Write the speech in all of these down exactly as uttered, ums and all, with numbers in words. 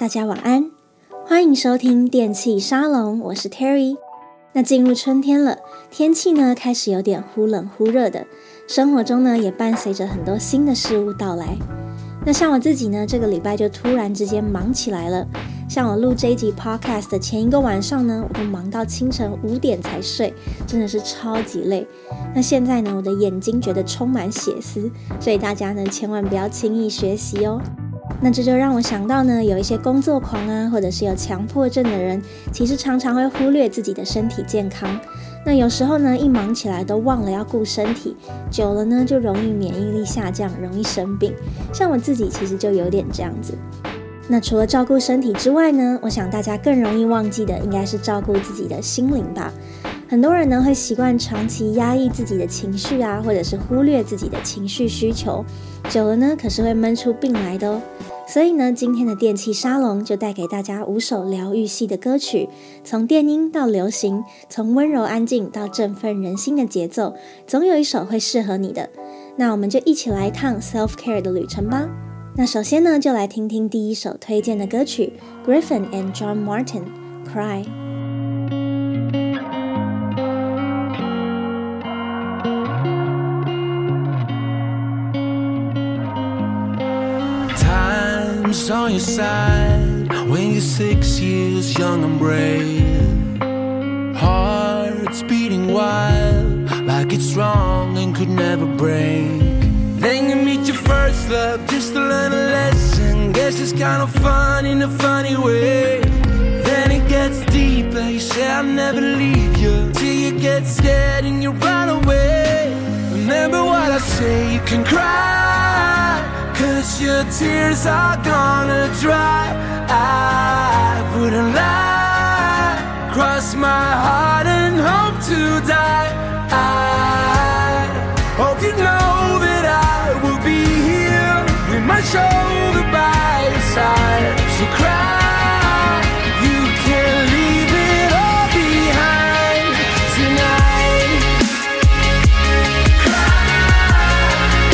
大家晚安，歡迎收聽電器沙龍，我是 Terry。那進入春天了，天氣呢開始有點忽冷忽熱的，生活中呢也伴隨着很多新的事物到來。那像我自己呢，這個禮拜就突然之間忙起來了。像我錄這一集 podcast 的前一個晚上呢，我就忙到清晨五點才睡，真的是超級累。那現在呢，我的眼睛覺得充滿血絲，所以大家呢千萬不要輕易學習哦。那這就讓我想到呢，有一些工作狂啊，或者是有強迫症的人，其實常常會忽略自己的身體健康。那有時候呢，一忙起來都忘了要顧身體，久了呢就容易免疫力下降，容易生病。像我自己其實就有點這樣子。那除了照顧身體之外呢，我想大家更容易忘記的應該是照顧自己的心靈吧。很多人呢會習慣長期壓抑自己的情緒啊，或者是忽略自己的情緒需求，久了呢可是會悶出病來的哦。所以呢，今天的電器沙龍就帶給大家五首療癒系的歌曲，從電音到流行，從溫柔安靜到振奮人心的節奏，總有一首會適合你的。那我們就一起來一趟 self care 的旅程吧。那首先呢，就來聽聽第一首推薦的歌曲 Gryffin and John Martin Cry。On your side when you're six years young and brave, hearts beating wild like it's wrong and could never break. Then you meet your first love just to learn a lesson. Guess it's kind of fun in a funny way. Then it gets deeper, you say I'll never leave you, till you get scared and you run away. Remember what I say, you can cry, cause your tears are gonna dry. I wouldn't lie, cross my heart and hope to die. I hope you know that I will be here with my shoulder by your side. So cry, you can leave it all behind tonight. Cry,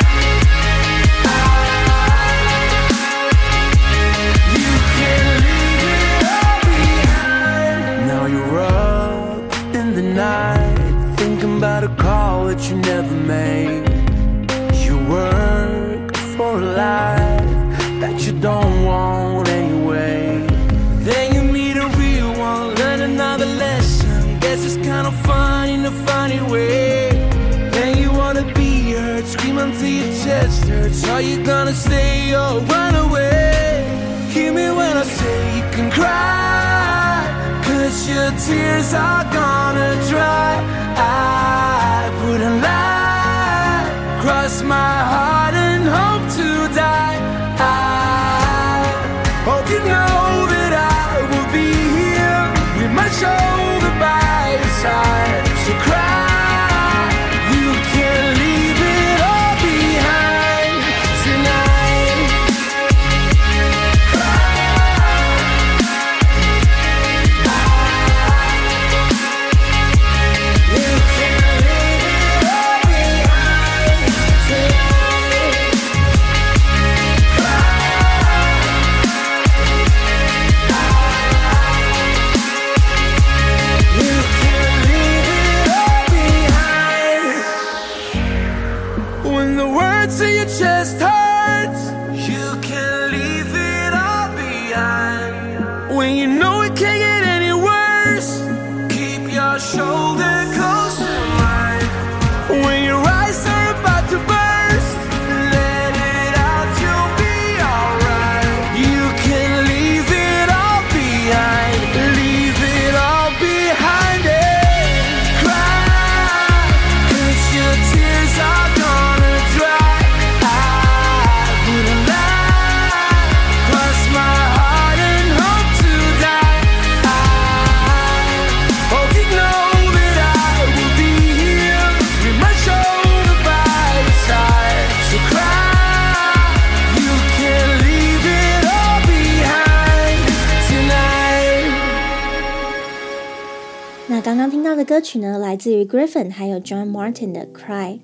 you can leave it all behind. Now you're up in the night, thinking about a call that you never made. You work for a life that you don't want anyway. Then you meet a real one, learn another lesson. Guess it's kind of fun in a funny way. Then you wanna be heard, scream until your chest hurts. Are you gonna stay or run away? Hear me when I say you can cry, cause your tears are gonna dry. I wouldn't lie, cross my heart and hope to die. I hope you know that I will be here with my shoulder by your side. So cry, you can leave it all behind tonight. Cry, you can leave it all behind tonight. You can leave it all behind. When the words in your chest hurts, you can leave it all behind. When you know it can't get any worse, keep your shoulder close to mine. When your eyes are about to burst, let it out, you'll be alright. You can leave it all behind, leave it all behind it. Cry, cause your tears are gonna dry. I wouldn't lie, cross my heart and hope to die. I hope you know that I will be here with my shoulder by your side. So cry, you can leave it all behind tonight. 那刚刚听到的歌曲呢，來自於 Gryffin 還有 John Martin 的 Cry。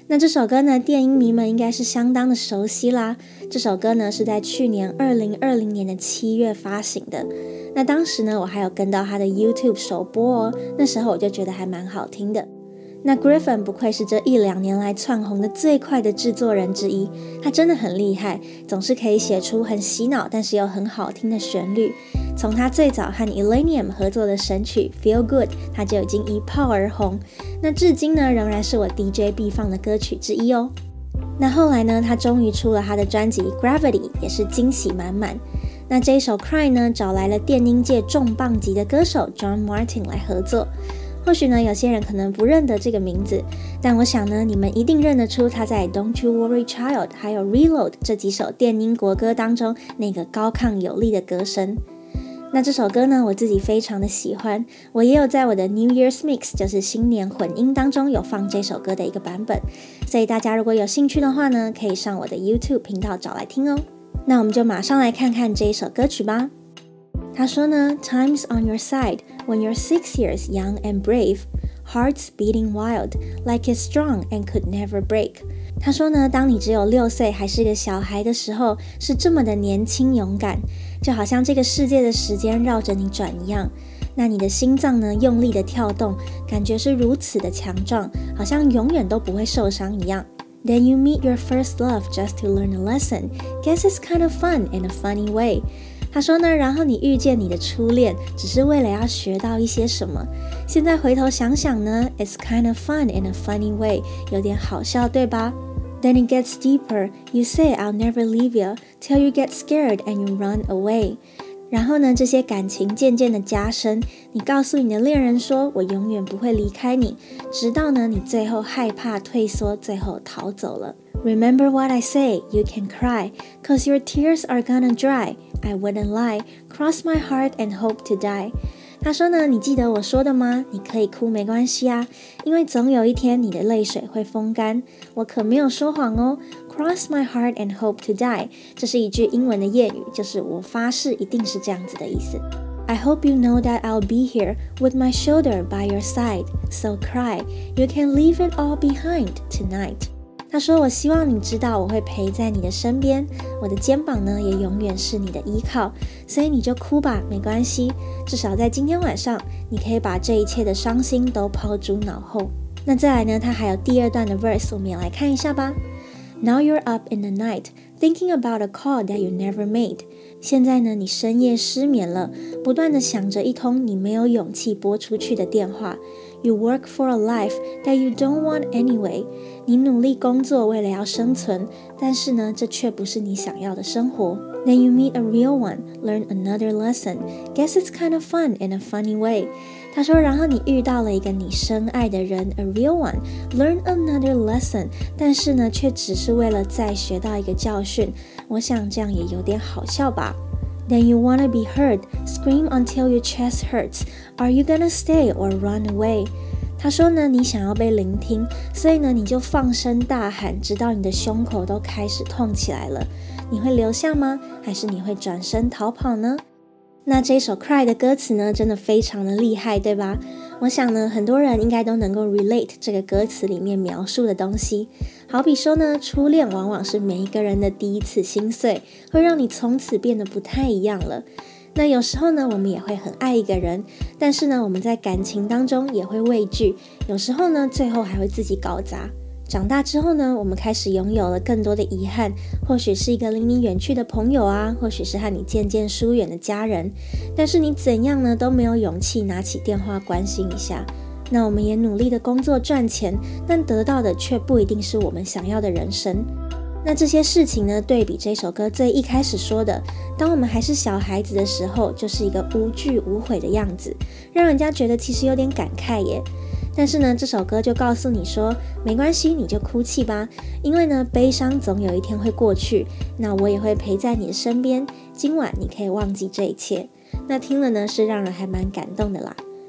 那這首歌呢，電音迷們應該是相當的熟悉啦。這首歌呢是在去年二零二零年的七月發行的。那當時呢，我還有跟到他的 YouTube 首播哦，那時候我就覺得還蠻好聽的。那 Gryphon 不愧是這一兩年來竄紅的最快的製作人之一，他真的很厲害，總是可以寫出很洗腦但是又很好聽的旋律。從他最早和 Illenium 合作的神曲 Feel Good， 他就已經一炮而紅，那至今呢仍然是我 D J 必放的歌曲之一哦。那後來呢，他終於出了他的專輯 Gravity， 也是驚喜滿滿。那這一首 Cry 呢，找來了電音界重磅級的歌手 John Martin 來合作。或許呢，有些人可能不認得這個名字，但我想呢，你們一定認得出他在 Don't You Worry Child 還有 Reload 這幾首電音國歌當中那個高亢有力的歌聲。那這首歌呢，我自己非常的喜歡，我也有在我的 New Year's Mix， 就是新年混音當中有放這首歌的一個版本，所以大家如果有興趣的話呢，可以上我的 YouTube 頻道找來聽哦。那我們就馬上來看看這一首歌曲吧。他說呢 Time's on your side when you're six years young and brave, hearts beating wild, like it's strong and could never break。 他說呢，當你只有六歲還是個小孩的時候，是這麼的年輕勇敢，就好像這個世界的時間繞着你轉一樣。那你的心臟呢，用力的跳動，感覺是如此的強壯，好像永遠都不會受傷一樣。Then you meet your first love just to learn a lesson. Guess it's kind of fun in a funny way。他說呢，然後你遇見你的初戀，只是為了要學到一些什麼。現在回頭想想呢 ，It's kind of fun in a funny way， 有點好笑，對吧？ Then it gets deeper. You say I'll never leave you till you get scared and you run away。然後呢，這些感情漸漸的加深，你告訴你的戀人說，我永遠不會離開你，直到呢，你最後害怕退縮，最後逃走了。Remember what I say, you can cry, cause your tears are gonna dry. I wouldn't lie, cross my heart and hope to die。 他說呢，你記得我說的嗎？你可以哭沒關係啊，因為總有一天你的淚水會風乾。我可沒有說謊哦。Cross my heart and hope to die， 這是一句英文的諺語，就是我發誓一定是這樣子的意思。I hope you know that I'll be here with my shoulder by your side, so cry, you can leave it all behind tonight。他說，我希望你知道我會陪在你的身邊，我的肩膀呢也永遠是你的依靠，所以你就哭吧，沒關係，至少在今天晚上你可以把這一切的傷心都拋諸腦後。那再來呢，他還有第二段的 verse， 我們也來看一下吧。Now you're up in the night, thinking about a call that you never made。 現在呢，你深夜失眠了，不斷地想着一通你沒有勇氣撥出去的電話。You work for a life that you don't want anyway。 你努力工作為了要生存，但是呢，這卻不是你想要的生活。Then you meet a real one, learn another lesson. Guess it's kind of fun in a funny way。 他說，然後你遇到了一個你深愛的人 ，a real one, learn another lesson。 但是呢，卻只是為了再學到一個教訓。我想這樣也有點好笑吧。Then you wanna be heard, scream until your chest hurts. Are you gonna stay or run away？ 他說呢，你想要被聆聽，所以呢，你就放聲大喊，直到你的胸口都開始痛起來了。你會留下嗎？還是你會轉身逃跑呢？那這首 Cry 的歌詞呢，真的非常的厲害，對吧？我想呢，很多人應該都能夠 relate 這個歌詞裡面描述的東西。好比說呢，初戀往往是每一個人的第一次心碎，會讓你從此變得不太一樣了。那有時候呢，我們也會很愛一個人，但是呢，我們在感情當中也會畏懼，有時候呢，最後還會自己搞砸。長大之後呢，我們開始擁有了更多的遺憾，或許是一個離你遠去的朋友啊，或許是和你漸漸疏遠的家人，但是你怎樣呢，都沒有勇氣拿起電話關心一下。那我們也努力的工作賺錢，但得到的卻不一定是我們想要的人生。那這些事情呢，對比這首歌最一開始說的，當我們還是小孩子的時候，就是一個無懼無悔的樣子，讓人家覺得其實有點感慨耶。但是呢，這首歌就告訴你說，沒關係，你就哭泣吧，因為呢，悲傷總有一天會過去，那我也會陪在你的身邊，今晚你可以忘記這一切。那聽了呢，是讓人還蠻感動的啦。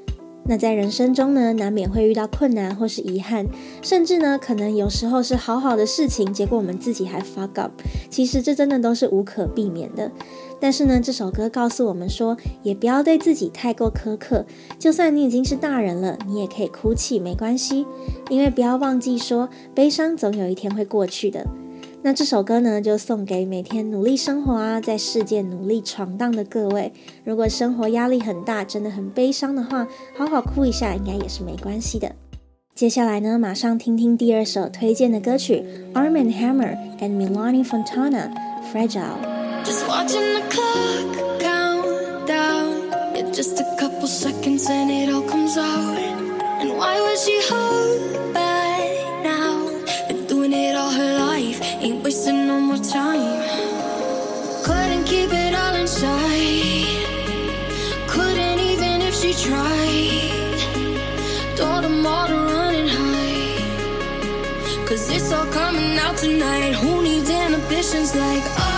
那在人生中呢，難免會遇到困難或是遺憾，甚至呢，可能有時候是好好的事情，結果我們自己還 fuck up。其實這真的都是無可避免的。但是呢，這首歌告訴我們說，也不要對自己太過苛刻。就算你已經是大人了，你也可以哭泣，沒關係。因為不要忘記說，悲傷總有一天會過去的。那這首歌呢，就送給每天努力生活啊，在世界努力闖蕩的各位。如果生活壓力很大，真的很悲傷的話，好好哭一下，應該也是沒關係的。接下來呢，馬上聽聽第二首推薦的歌曲 Arm and Hammer and Milani Fontana Fragile。Just watching the clock count down. Yeah, just a couple seconds and it all comes out. And why would she hold back now? Been doing it all her life, ain't wasting no more time. Couldn't keep it all inside. Couldn't even if she tried. Told them all to run and hide. Cause it's all coming out tonight. Who needs inhibitions like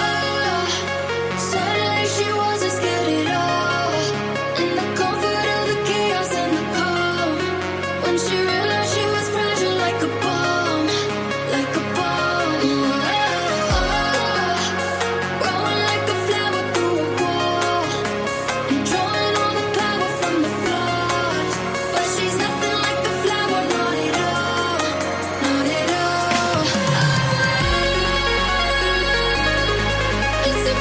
oh?She wasn't scared at all. In the comfort of the chaos and the calm. When she realized she was fragile like a bomb, like a bomb. Oh, growing like a flower through a wall. And drawing all the power from the flaws. But she's nothing like a flower, not at all, not at all. It's a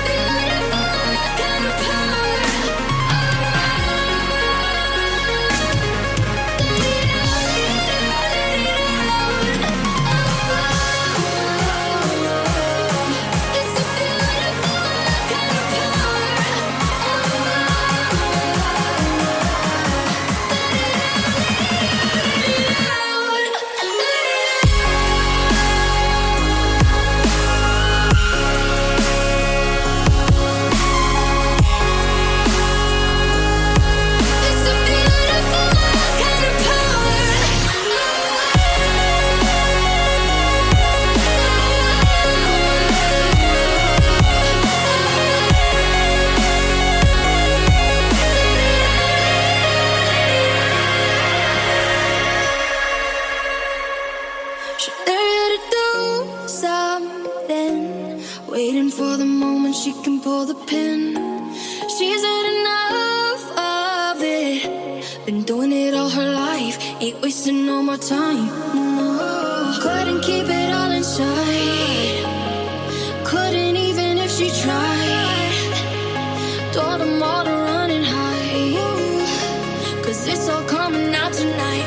waiting for the moment she can pull the pin. She's had enough of it. Been doing it all her life, ain't wasting no more time. No, couldn't keep it all inside. Couldn't even if she tried. Told them all to run and hide. Cause it's all coming out tonight.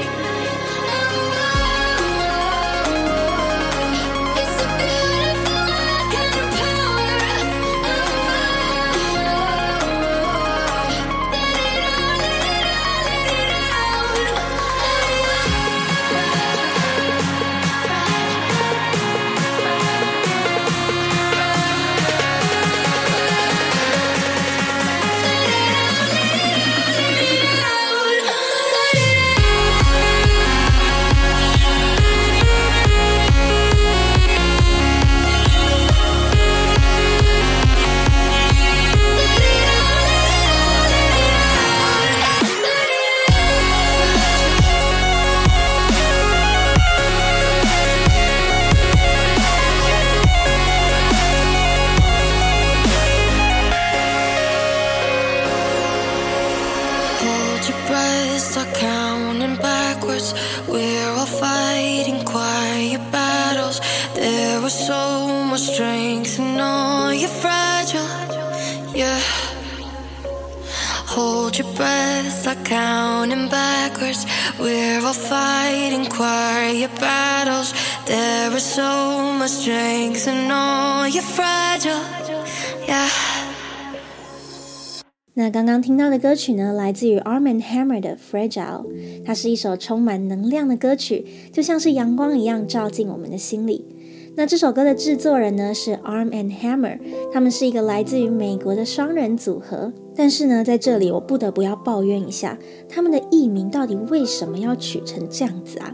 Hold your breath, start counting backwards. We're all fighting quiet battles. There is so much strength in all you're fragile, yeah. 那剛剛聽到的歌曲呢，來自於 Arm and Hammer 的 Fragile。它是一首充滿能量的歌曲，就像是陽光一樣照進我們的心裡。那這首歌的製作人呢是 Arm and Hammer， 他們是一個來自於美國的雙人組合。但是呢，在這裡我不得不要抱怨一下，他們的藝名到底為什麼要取成這樣子啊？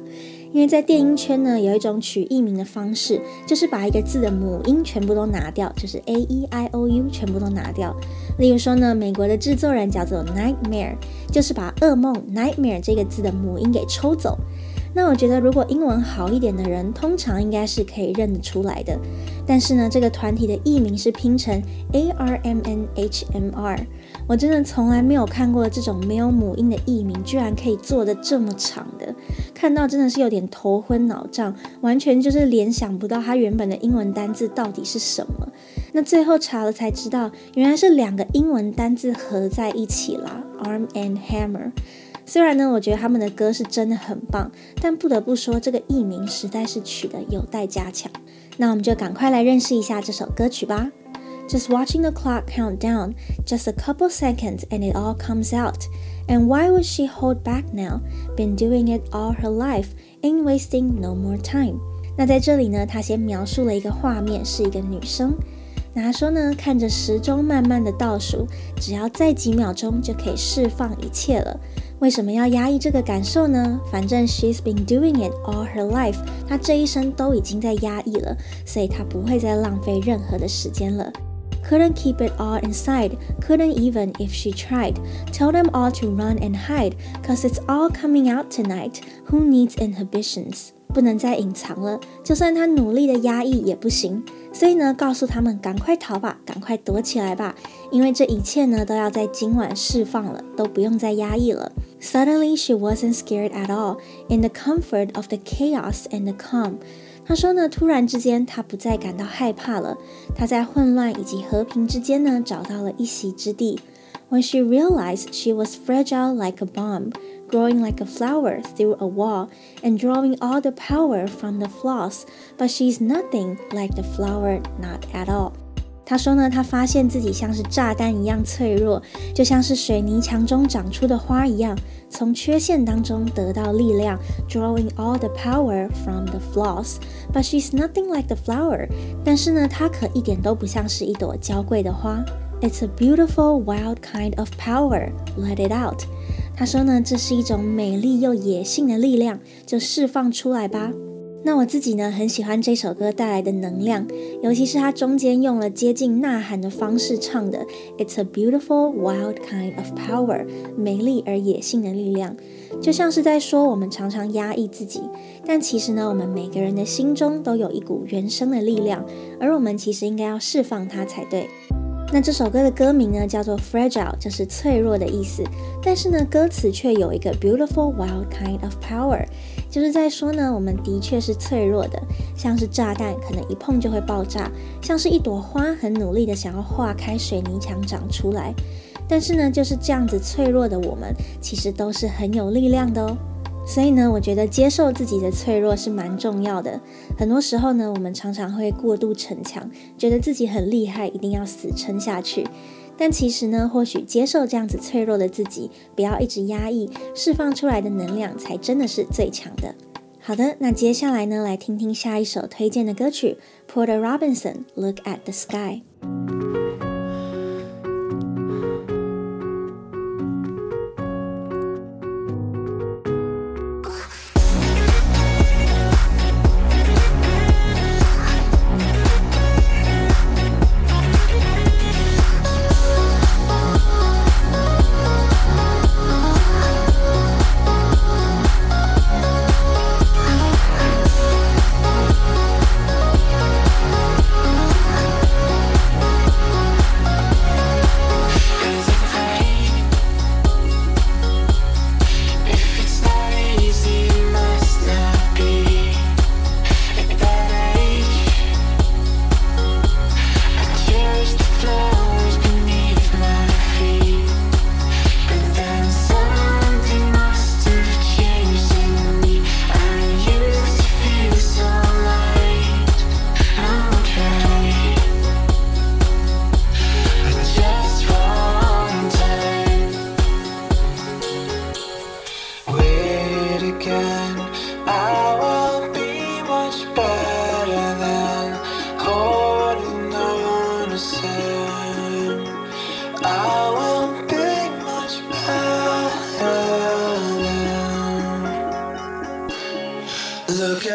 因為在電音圈呢，有一種取藝名的方式，就是把一個字的母音全部都拿掉，就是 A E I O U 全部都拿掉。例如說呢，美國的制作人叫做 Nightmare， 就是把噩夢 Nightmare 這個字的母音給抽走。那我覺得如果英文好一點的人，通常應該是可以認得出來的。但是呢，這個團體的藝名是拼成 A R M N H M R， 我真的從來沒有看過這種沒有母音的藝名居然可以做得這麼長的，看到真的是有點頭昏腦脹，完全就是聯想不到它原本的英文單字到底是什麼。那最後查了才知道，原來是兩個英文單字合在一起啦 ，Arm and Hammer。雖然呢，我覺得他們的歌是真的很棒，但不得不說這個藝名實在是取得有待加強。那我們就趕快來認識一下這首歌曲吧。Just watching the clock count down, just a couple seconds and it all comes out. And why would she hold back now? Been doing it all her life, ain't wasting no more time. 那在這裡呢，他先描述了一個畫面，是一個女生。那他說呢，看着時鐘慢慢的倒數，只要再幾秒鐘就可以釋放一切了。為什麼要壓抑這個感受呢？反正 she's been doing it all her life， 她這一生都已經在壓抑了，所以她不會再浪費任何的時間了。Couldn't keep it all inside, couldn't even if she tried. Tell them all to run and hide, cause it's all coming out tonight. Who needs inhibitions? 不能再隱藏了，就算她努力的壓抑也不行。所以呢，告訴他們趕快逃吧，趕快躲起來吧，因為這一切呢都要在今晚釋放了，都不用再壓抑了。Suddenly she wasn't scared at all, in the comfort of the chaos and the calm. 他說呢，突然之間她不再感到害怕了，她在混亂以及和平之間呢找到了一席之地。When she realized she was fragile like a bomb, growing like a flower through a wall, and drawing all the power from the flaws, but she's nothing like the flower, not at all. 他說呢，他發現自己像是炸彈一樣脆弱，就像是水泥牆中長出的花一樣，從缺陷當中得到力量 drawing all the power from the flaws, but she's nothing like the flower. 但是呢，她可一點都不像是一朵嬌貴的花。It's a beautiful, wild kind of power. Let it out. 他說呢，這是一種美麗又野性的力量，就釋放出來吧。那我自己呢，很喜歡這首歌帶來的能量，尤其是它中間用了接近吶喊的方式唱的 It's a beautiful, wild kind of power. 美麗而野性的力量，就像是在說我們常常壓抑自己，但其實呢，我們每個人的心中都有一股原生的力量，而我們其實應該要釋放它才對。那這首歌的歌名呢，叫做 Fragile， 就是脆弱的意思。但是呢，歌詞卻有一個 Beautiful wild kind of power， 就是在說呢，我們的確是脆弱的，像是炸彈，可能一碰就會爆炸；像是一朵花，很努力的想要化開水泥牆長出來。但是呢，就是這樣子脆弱的我們，其實都是很有力量的哦。所以呢，我覺得接受自己的脆弱是蠻重要的。很多時候呢，我們常常會過度逞強，覺得自己很厲害，一定要死撐下去。但其實呢，或許接受這樣子脆弱的自己，不要一直壓抑，釋放出來的能量才真的是最強的。好的，那接下來呢，來聽聽下一首推薦的歌曲 Porter Robinson Look at the Sky。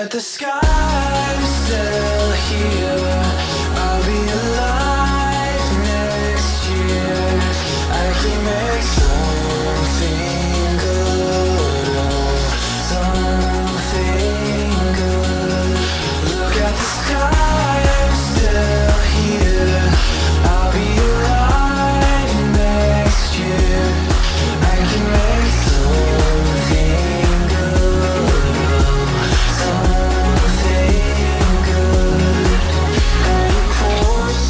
at the sky, still here. I'll be alive next year. I can make something good, oh, something good. Look at the sky, I'm still here. I'll be alive next year. I can make something good, something good. And of course,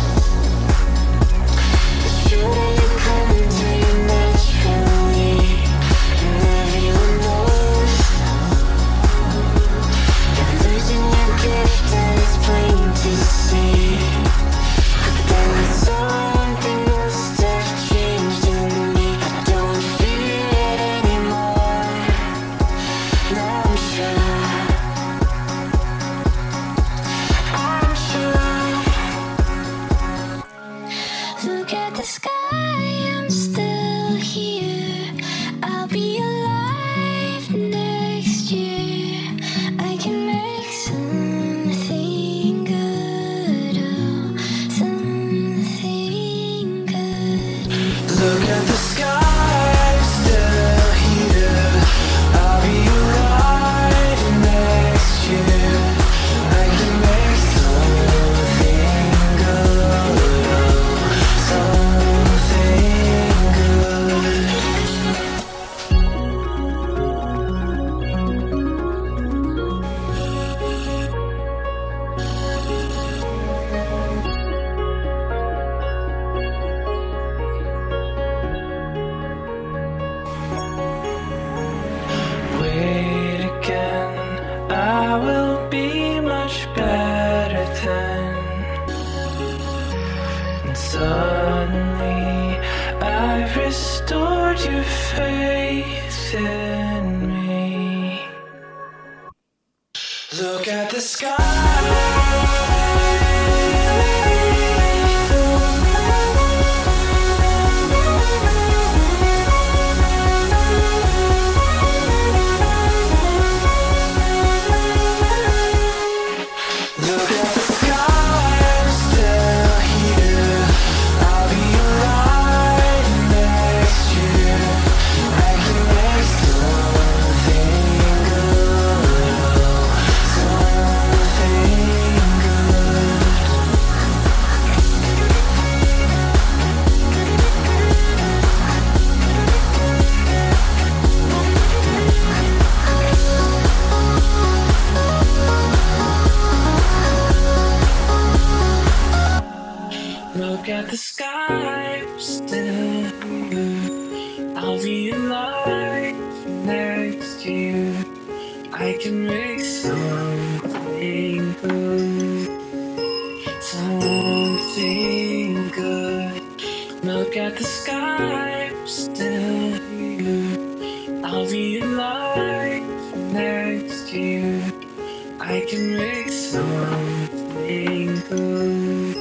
it's true that you come to me naturally, and everyone knows you're losing your gift and it's plain to see. But then something must have changed in me. I don't feel it anymore. Now I'm sure, I'm sure. Look at the sky, I'm still here. I'll be alive next year. I can make something good, oh, something good. Look at the sky, I'm still here. I'll be alive next year. I can make something good, oh, something good. Wait again, I will be much better then. And suddenly I've restored your faith in me. Look at the Look at the sky, I'm still here. I'll be alive next year. I can make something good, something good. Look at the sky, I'm still here. I'll be alive next year. I can make something good, something good. Look at the sky, I'm still here. I'll be alive next year. I can make something good,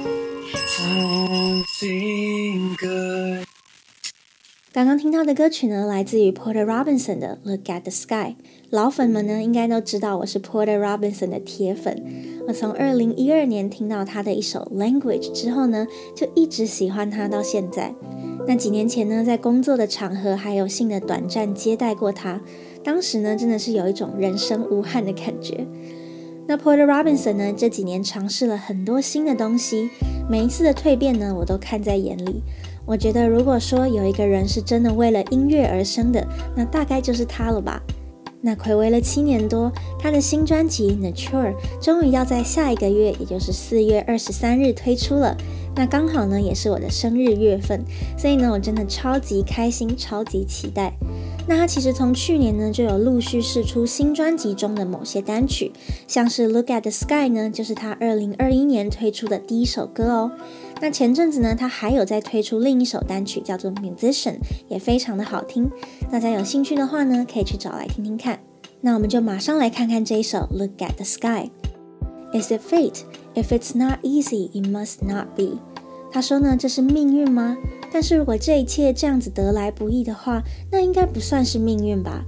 something good. 刚刚听到的歌曲呢，来自于 Porter Robinson 的 Look at the Sky。老粉們呢，應該都知道我是 Porter Robinson 的鐵粉。我從二零一二年聽到他的一首 Language 之後呢，就一直喜歡他到現在。那幾年前呢，在工作的場合還有幸的短暫接待過他，當時呢，真的是有一種人生無憾的感覺。那 Porter Robinson 呢，這幾年嘗試了很多新的東西，每一次的蛻變呢，我都看在眼裡。我覺得如果說有一個人是真的為了音樂而生的，那大概就是他了吧。那睽違了七年多，他的新專輯 Nature 終於要在下一個月，也就是四月二十三日推出了。那剛好呢，也是我的生日月份，所以呢，我真的超級開心，超級期待。那他其實從去年呢，就有陸續釋出新專輯中的某些單曲，像是 Look at the Sky 呢，就是他二零二一年推出的第一首歌哦。那前陣子呢，他還有在推出另一首單曲，叫做 Musician， 也非常的好聽。大家有興趣的話呢，可以去找來聽聽看。那我們就馬上來看看這一首 Look at the Sky。Is it fate? If it's not easy, it must not be. 他說呢，這是命運嗎？但是如果這一切這樣子得來不易的話，那應該不算是命運吧。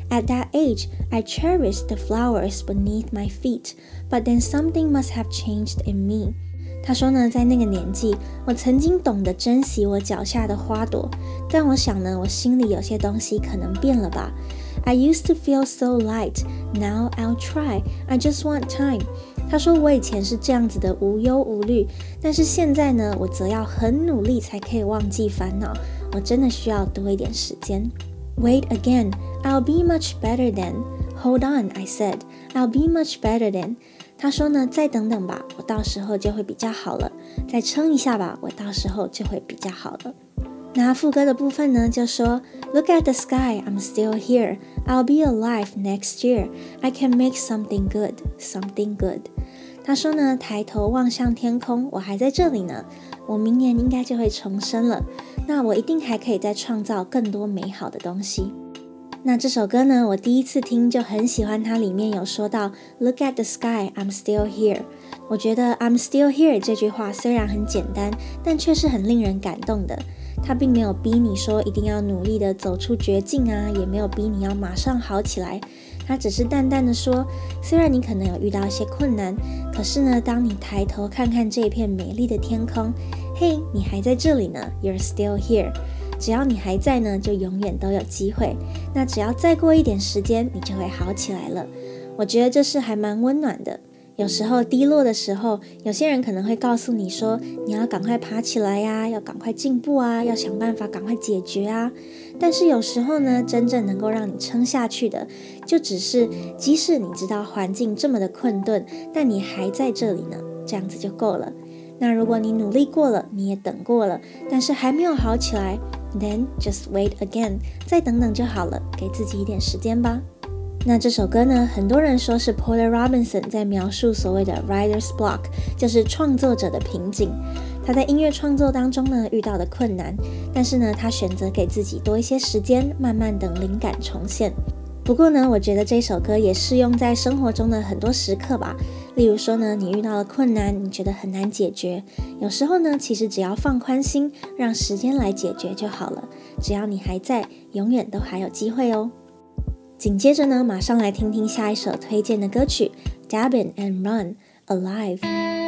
At that age, I cherished the flowers beneath my feet, but then something must have changed in me. 他說呢，在那個年紀，我曾經懂得珍惜我腳下的花朵，但我想呢，我心裡有些東西可能變了吧。I used to feel so light, now I'll try, I just want time. 他說我以前是這樣子的無憂無慮，但是現在呢，我則要很努力才可以忘記煩惱，我真的需要多一點時間。Wait again, I'll be much better then. Hold on, I said, I'll be much better then. 他說呢，再等等吧，我到時候就會比較好了。再撐一下吧，我到時候就會比較好了。那副歌的部分呢，就說 Look at the sky, I'm still here. I'll be alive next year. I can make something good, something good. 他說呢，抬頭望向天空，我還在這裡呢。我明年應該就會重生了。那我一定還可以再創造更多美好的東西。那這首歌呢，我第一次聽就很喜歡，它裡面有說到 Look at the sky, I'm still here。 我覺得 I'm still here 這句話雖然很簡單，但卻是很令人感動的。它並沒有逼你說一定要努力的走出絕境啊，也沒有逼你要馬上好起來。它只是淡淡的說，雖然你可能有遇到一些困難，可是呢，當你抬頭看看這片美麗的天空，嘿，你還在這裡呢， You're still here。只要你還在呢，就永遠都有機會。那只要再過一點時間，你就會好起來了。我覺得這是還蠻溫暖的。有時候低落的時候，有些人可能會告訴你說，你要趕快爬起來呀，要趕快進步啊，要想辦法趕快解決啊。但是有時候呢，真正能夠讓你撐下去的，就只是即使你知道環境這麼的困頓，但你還在這裡呢，這樣子就夠了。那如果你努力過了，你也等過了，但是還沒有好起來， Then just wait again， 再等等就好了，給自己一點時間吧。那這首歌呢，很多人說是 Porter Robinson 在描述所謂的 writer's block， 就是創作者的瓶頸。他在音樂創作當中呢，遇到的困難，但是呢，他選擇給自己多一些時間，慢慢等靈感重現。不過呢，我覺得這首歌也適用在生活中的很多時刻吧。例如說呢，你遇到了困難，你覺得很難解決，有時候呢，其實只要放寬心，讓時間來解決就好了。只要你還在，永遠都還有機會哦。緊接着呢，馬上來聽聽下一首推薦的歌曲 Dabin and Run, Alive。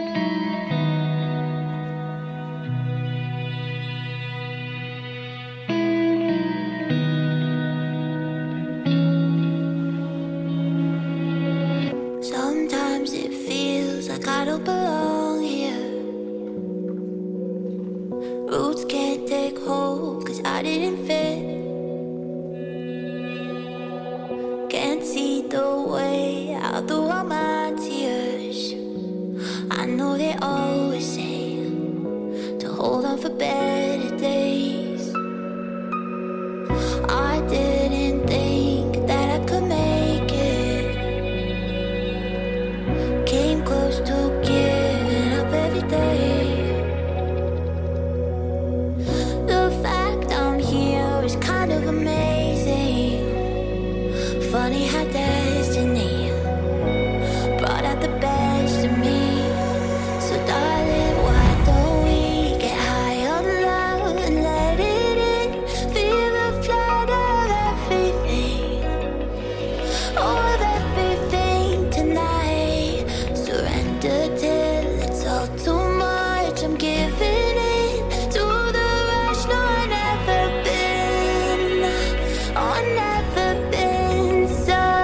Sometimes it feels like I don't belong here. Roots can't take hold 'cause I didn't fit. Can't see the way out through all my tears. I know they always say to hold on for better days. I didn't think that I could make it. Came close to giving up every day. The fact I'm here is kind of amazing. Funny how destiny brought out the best in me. So darling, why don't we get high on love and let it in? Feel the flood of everything, of everything tonight. Surrender till it's all too much. I'm giving in to the rush. No, I've never been, oh, I've never been so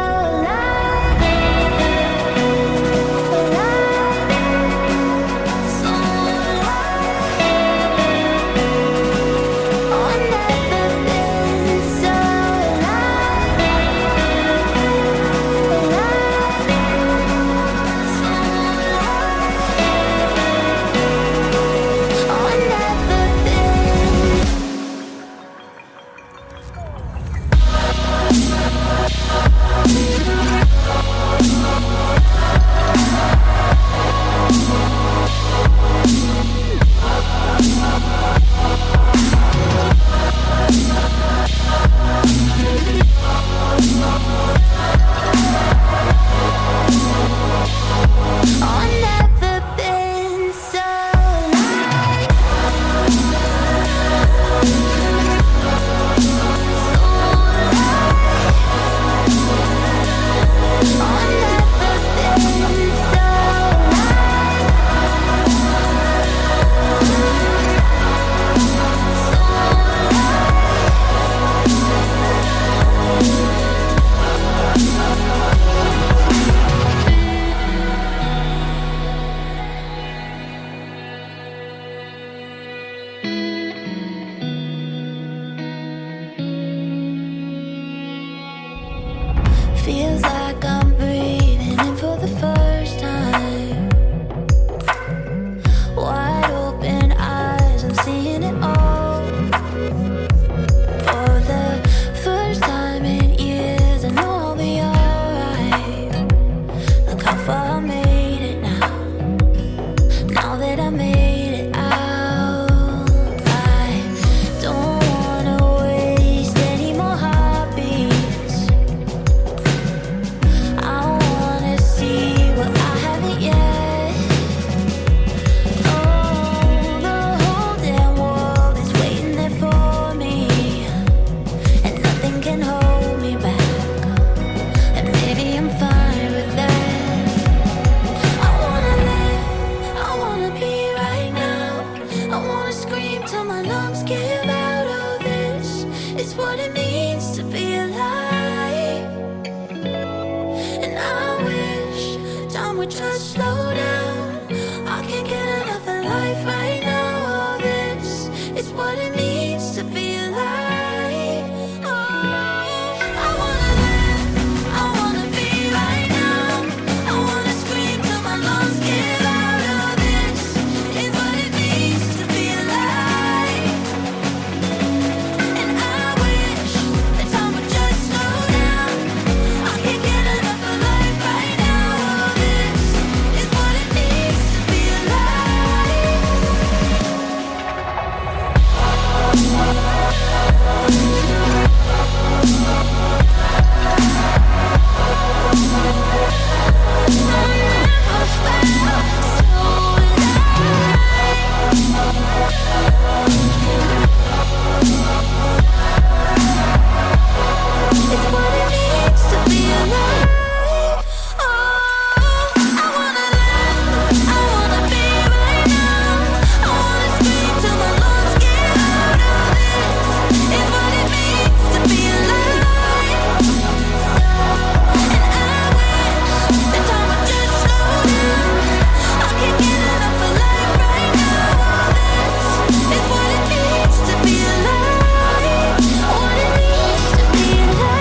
feels like I'm breathing in for the first time. Wide open eyes, I'm seeing it all. For the first time in years, I know I'll be alright. Look how far I made it now. Now that I made it out, I don't wanna waste any more heartbeats. I wanna see what I haven't yet. Oh, the whole damn world is waiting there for me, and nothing can hold me back. And maybe I'm fine with that. I wanna live, I wanna be right now. I wanna scream till my lungs give out. Oh, this is what it means to be alive. And I wish time would just slow down. I can't get enough of life right now. Oh, this is what it means to be alive. Oh, I wanna live, I wanna be right now. I wanna scream till my lungs give out. Oh, this is what it means to be alive. And I wish that time would just slow down. I can't get enough of life right now. Oh, this is what it means to be alive. It's what it means to be alive. Oh, I wanna live, I wanna be right now. I wanna scream till my lungs give out. Oh, this is what it means to be alive. And I wish that time would just slow down. I can't get enough of life right now. Oh, this is what it means to be alive. What it means to be alive.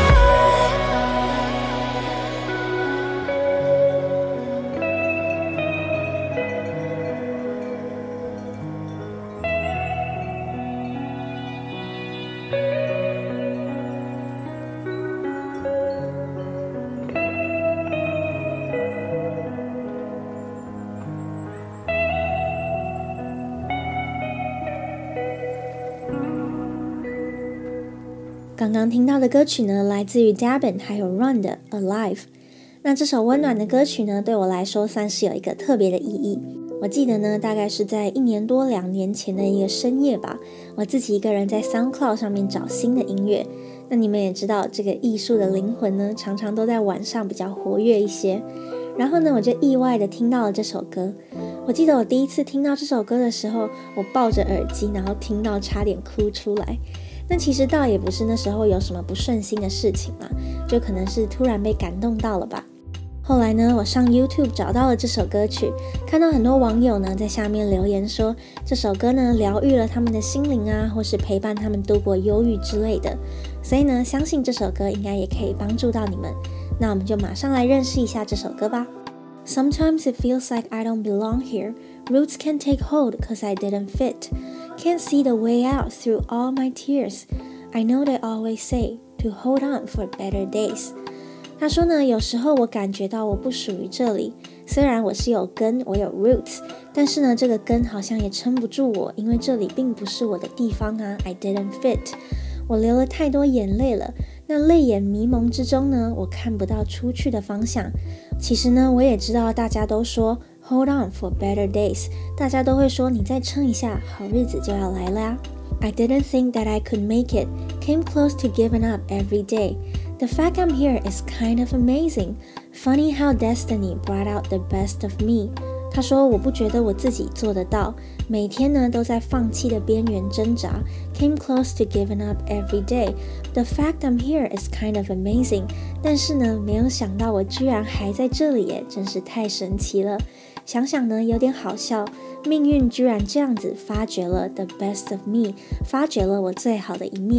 刚刚聽到的歌曲呢，來自於 Dabin 還有 Run 的 Alive。那這首溫暖的歌曲呢，對我來說算是有一個特別的意義。我記得呢，大概是在一年多兩年前的一個深夜吧，我自己一個人在 SoundCloud 上面找新的音樂。那你們也知道，這個藝術的靈魂呢，常常都在晚上比較活躍一些。然後呢，我就意外的聽到了這首歌。我記得我第一次聽到這首歌的時候，我抱着耳機，然後聽到差點哭出來。那其實倒也不是那時候有什麼不順心的事情啦，就可能是突然被感動到了吧。後來呢，我上 YouTube 找到了這首歌曲，看到很多網友呢在下面留言說，這首歌呢療癒了他們的心靈啊，或是陪伴他們度過憂鬱之類的。所以呢，相信這首歌應該也可以幫助到你們。那我們就馬上來認識一下這首歌吧。Sometimes it feels like I don't belong here. Roots can't take hold cause I didn't fit. Can't see the way out through all my tears. I know they always say to hold on for better days. 他說呢，有時候我感覺到我不屬於這裡，雖然我是有根，我有 roots， 但是呢，這個根好像也撐不住我，因為這裡並不是我的地方啊。I didn't fit. 我流了太多眼淚了，那淚眼迷蒙之中呢，我看不到出去的方向。其實呢，我也知道大家都說 hold on for better days， 大家都會說你再撐一下，好日子就要來了啊。I didn't think that I could make it, came close to giving up every day. The fact I'm here is kind of amazing. Funny how destiny brought out the best of me. 他說我不覺得我自己做得到，每天呢都在放棄的邊緣掙扎， came close to giving up every day. The fact I'm here is kind of amazing. 但是呢，沒有想到我居然還在這裡耶，真是太神奇了。想想呢，有點好笑，命運居然這樣子發掘了 the best of me， 發掘了我最好的一面。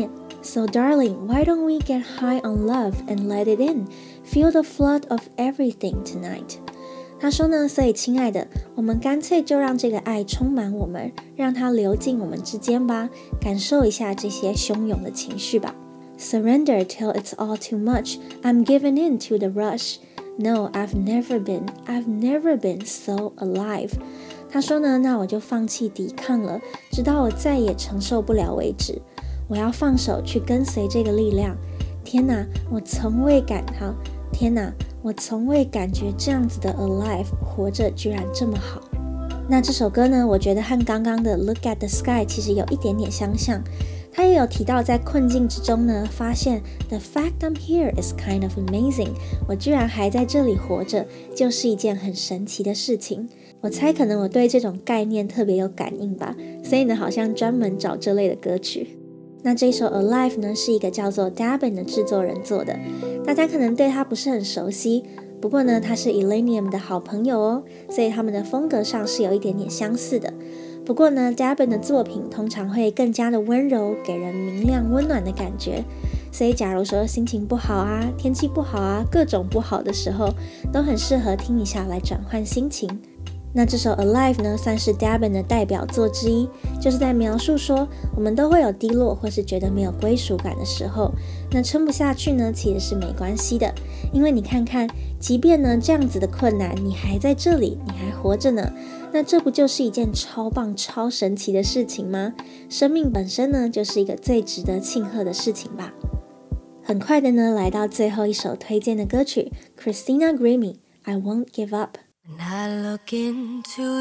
So darling, why don't we get high on love and let it in? Feel the flood of everything tonight. 他說呢，所以親愛的，我們乾脆就讓這個愛充滿我們，讓它流進我們之間吧，感受一下這些洶湧的情緒吧。Surrender till it's all too much. I'm giving in to the rush. No, I've never been, I've never been so alive. 他說呢，那我就放棄抵抗了，直到我再也承受不了為止。我要放手去跟隨這個力量。天哪，我從未感好，天哪，我從未感覺這樣子的 alive 活着居然這麼好。那這首歌呢，我覺得和剛剛的 Look at the Sky 其實有一點點相像。他也有提到在困境之中呢，發現 The fact I'm here is kind of amazing。我居然還在這裡活着，就是一件很神奇的事情。我猜可能我對這種概念特別有感應吧，所以呢，好像專門找這類的歌曲。那這首 Alive 呢，是一個叫做 Dabin 的製作人做的，大家可能對他不是很熟悉，不過呢，他是 Illenium 的好朋友哦，所以他們的風格上是有一點點相似的。不過呢 Dabin 的作品通常會更加的溫柔，給人明亮溫暖的感覺，所以假如說心情不好啊，天氣不好啊，各種不好的時候，都很適合聽一下來轉換心情。那這首 Alive 呢，算是 Dabin 的代表作之一，就是在描述說我們都會有低落或是覺得沒有歸屬感的時候，那撐不下去呢，其實是沒關係的，因為你看看，即便呢這樣子的困難，你還在這裡，你還活着呢，那這不就是一件超棒超神奇的事情嗎？生命本身呢，就是一個最值得慶賀的事情吧。很快的呢，來到最後一首推薦的歌曲 Christina Grimmie I Won't Give Up。When I look into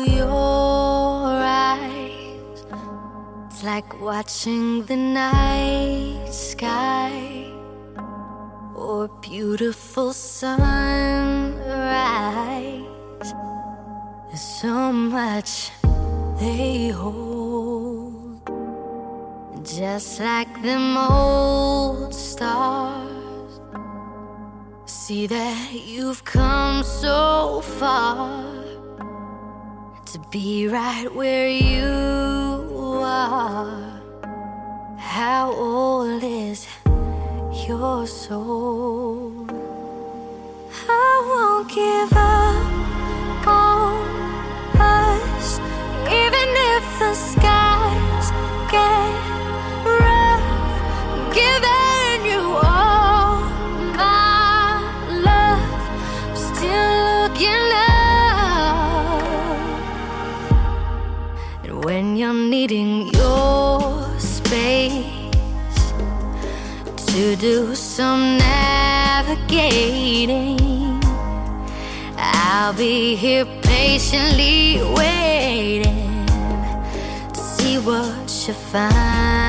your eyes, it's like watching the night sky or beautiful sunrise. There's so much they hold, just like them old stars. See that you've come so far to be right where you are. How old is your soul? I won't give up on us, even if the skies get rough. Giving you all my love, I'm still looking up. And when you're needing your space to do some navigating, I'll be here patiently waiting to see what you find.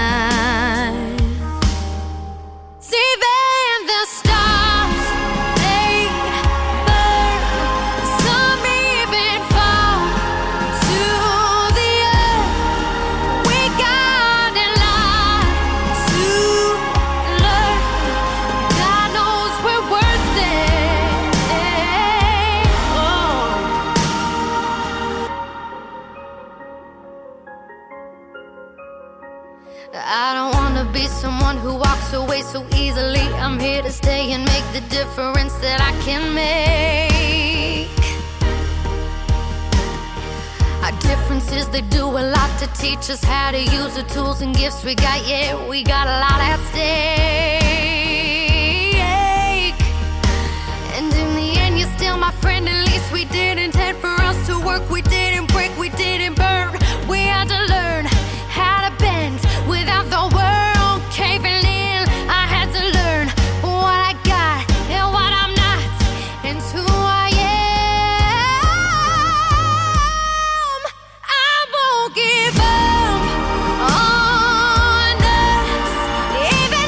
See then the stars, they burn, some even fall to the earth. We got a lot to learn. God knows we're worth it. Oh. I don't wanna be someone who walks away so easily. I'm here to stay and make the difference that I can make. Our differences, they do a lot to teach us how to use the tools and gifts we got. Yeah, we got a lot at stake. And in the end, you're still my friend. At least we didn't intend for us to work. We didn't break, we didn't burn. We had to learn how to bend without the world caving in. I had to learn what I got and what I'm not, and who I am. I won't give up on us, even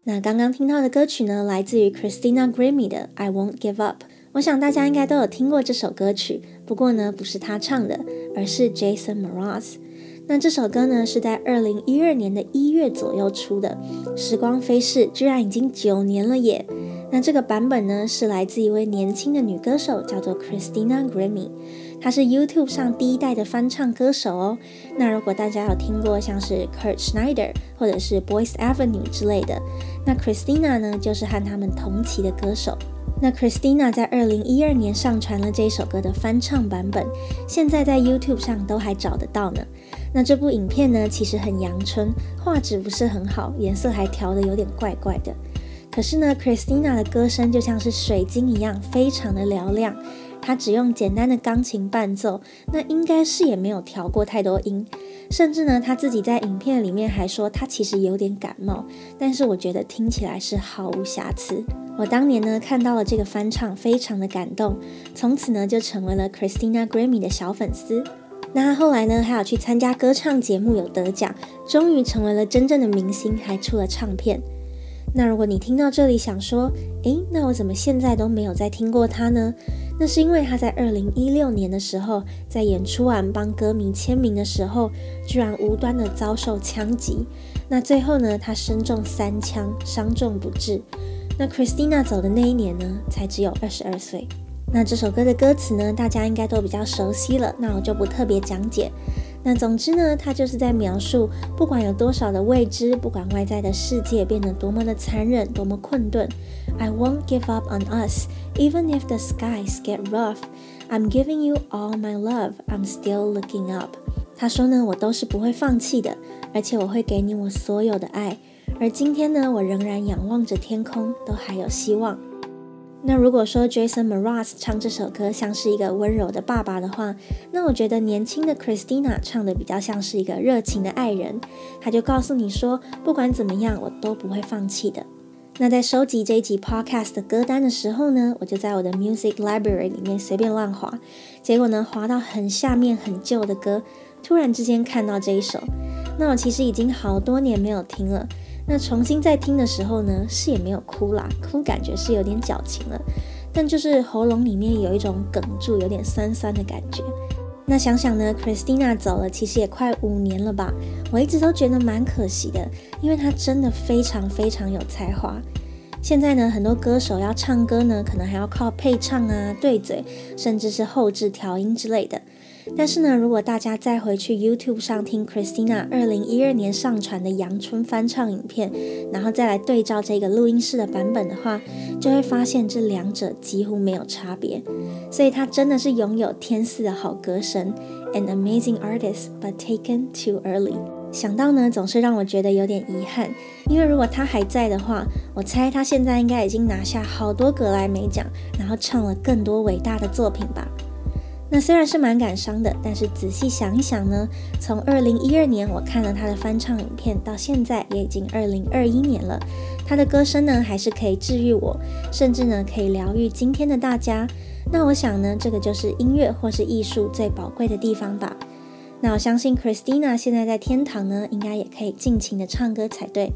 那剛剛聽到的歌曲呢，來自於 Christina Grimmie 的《I Won't Give Up》。我想大家應該都有聽過這首歌曲，不過呢，不是他唱的，而是 Jason Mraz。那這首歌呢，是在二零一二年的一月左右出的，時光飛逝，居然已經九年了耶！那這個版本呢，是來自一位年輕的女歌手，叫做 Christina Grimmie。她是 YouTube 上第一代的翻唱歌手哦。那如果大家有聽過像是 Kurt Schneider 或者是 Boyce Avenue 之類的，那 Christina 呢，就是和他們同期的歌手。那 Christina 在二零一二年上傳了這一首歌的翻唱版本，現在在 YouTube 上都還找得到呢。那這部影片呢，其實很陽春，畫質不是很好，顏色還調得有點怪怪的。可是呢 Christina 的歌聲就像是水晶一樣，非常的嘹亮。她只用簡單的鋼琴伴奏，那應該是也沒有調過太多音。甚至呢，她自己在影片裡面還說她其實有點感冒，但是我覺得聽起來是毫無瑕疵。我當年呢看到了這個翻唱，非常的感動，從此呢就成為了 Christina Grimmie 的小粉絲。那她後來呢還有去參加歌唱節目，有得獎，終於成為了真正的明星，還出了唱片。那如果你聽到這裡想說，誒，那我怎麼現在都沒有再聽過他呢？那是因為他在二零一六年的時候，在演出完幫歌迷簽名的時候，居然無端的遭受槍擊。那最後呢，他身中三槍，傷重不治。那 Christina 走的那一年呢，才只有二十二歲。那這首歌的歌詞呢，大家應該都比較熟悉了，那我就不特別講解。那總之呢，它就是在描述，不管有多少的未知，不管外在的世界變得多麼的殘忍，多麼困頓 I won't give up on us, even if the skies get rough. I'm giving you all my love, I'm still looking up. 他說呢，我都是不會放棄的，而且我會給你我所有的愛。而今天呢，我仍然仰望着天空，都還有希望。那如果說 Jason Mraz 唱這首歌像是一個溫柔的爸爸的話，那我覺得年輕的 Christina 唱的比較像是一個熱情的愛人，他就告訴你說，不管怎麼樣，我都不會放棄的。那在收集這一集 podcast 的歌單的時候呢，我就在我的 music library 裡面隨便亂滑，結果呢，滑到很下面很舊的歌，突然之間看到這一首。那我其實已經好多年沒有聽了，那重新再聽的時候呢，是也沒有哭啦，哭感覺是有點矯情了，但就是喉嚨裡面有一種哽住，有點酸酸的感覺。那想想呢 Christina 走了其實也快五年了吧，我一直都覺得蠻可惜的，因為她真的非常非常有才華。現在呢，很多歌手要唱歌呢，可能還要靠配唱啊、對嘴，甚至是後製調音之類的。但是呢，如果大家再回去 YouTube 上聽 Christina 二零一二年上傳的陽春翻唱影片，然後再來對照這個錄音室的版本的話，就會發現這兩者幾乎沒有差別。所以她真的是擁有天賜的好歌聲 ，an amazing artist but taken too early。想到呢，總是讓我覺得有點遺憾，因為如果她還在的話，我猜她現在應該已經拿下好多格萊美獎，然後唱了更多偉大的作品吧。那雖然是蠻感傷的，但是仔細想一想呢，從二零一二年我看了他的翻唱影片，到現在也已經二零二一年了，他的歌聲呢還是可以治癒我，甚至呢可以療癒今天的大家。那我想呢，這個就是音樂或是藝術最寶貴的地方吧。那我相信 Christina 現在在天堂呢，應該也可以盡情的唱歌才對。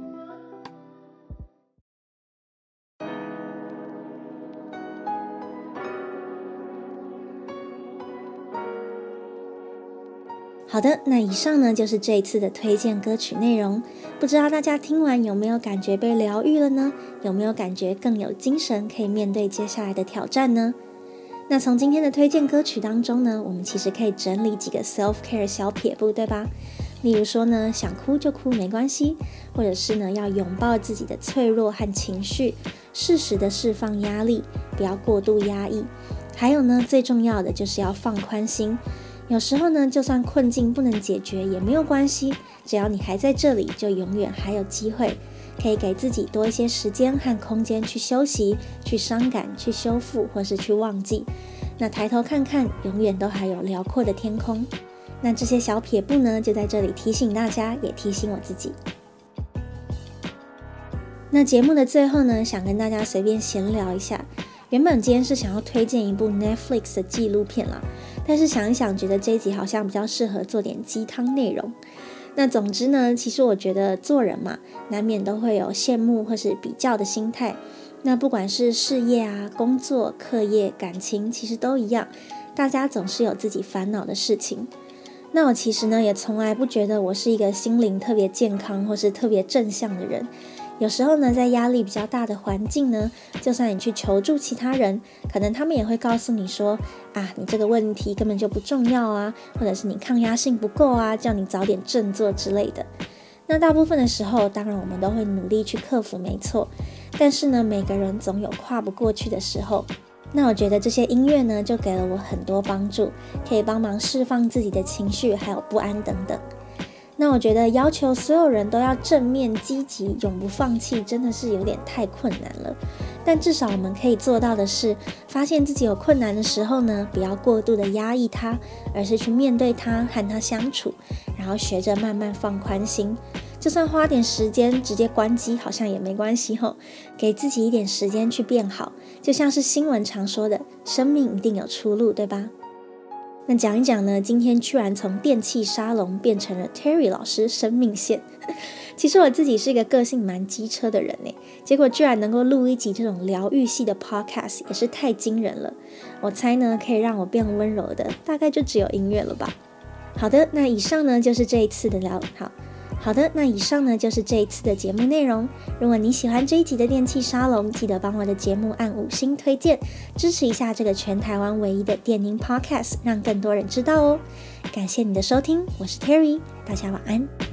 好的，那以上呢就是這一次的推薦歌曲內容。不知道大家聽完有沒有感覺被療癒了呢？有沒有感覺更有精神，可以面對接下來的挑戰呢？那從今天的推薦歌曲當中呢，我們其實可以整理幾個 self-care 小撇步，對吧？例如說呢，想哭就哭沒關係，或者是呢要擁抱自己的脆弱和情緒，適時的釋放壓力，不要過度壓抑。還有呢，最重要的就是要放寬心。有時候呢，就算困境不能解決也沒有關係，只要你還在這裡，就永遠還有機會，可以給自己多一些時間和空間去休息、去傷感、去修復，或是去忘記。那抬頭看看，永遠都還有遼闊的天空。那這些小撇步呢，就在這裡提醒大家，也提醒我自己。那節目的最後呢，想跟大家隨便閒聊一下。原本今天是想要推薦一部 Netflix 的紀錄片啦，但是想一想，覺得這一集好像比較適合做點雞湯內容。 那總之呢，其實我覺得做人嘛，難免都會有羨慕或是比較的心態。那不管是事業啊、工作、課業、感情，其實都一樣，大家總是有自己煩惱的事情。那我其實呢，也從來不覺得我是一個心靈特別健康或是特別正向的人。有時候呢，在壓力比較大的環境呢，就算你去求助其他人，可能他們也會告訴你說，啊，你這個問題根本就不重要啊，或者是你抗壓性不夠啊，叫你早點振作之類的。那大部分的時候，當然我們都會努力去克服，沒錯。但是呢，每個人總有跨不過去的時候。那我覺得這些音樂呢，就給了我很多幫助，可以幫忙釋放自己的情緒，還有不安等等。那我覺得要求所有人都要正面積極永不放棄，真的是有點太困難了。但至少我們可以做到的是，發現自己有困難的時候呢，不要過度的壓抑它，而是去面對它，和它相處，然後學着慢慢放寬心。就算花點時間直接關機好像也沒關係吼，給自己一點時間去變好，就像是新聞常說的，生命一定有出路，對吧？那講一講呢，今天居然從電氣沙龍變成了 Terry 老師生命線。其實我自己是一個個性蠻機車的人耶，結果居然能夠錄一集這種療癒系的 podcast 也是太驚人了。我猜呢，可以讓我變溫柔的大概就只有音樂了吧。好的，那以上呢就是這一次的聊好好的，那以上呢就是這一次的節目內容。如果你喜歡這一集的電氣沙龍，記得幫我的節目按五星推薦，支持一下這個全台灣唯一的電音 podcast，讓更多人知道哦。感謝你的收聽，我是 Terry，大家晚安。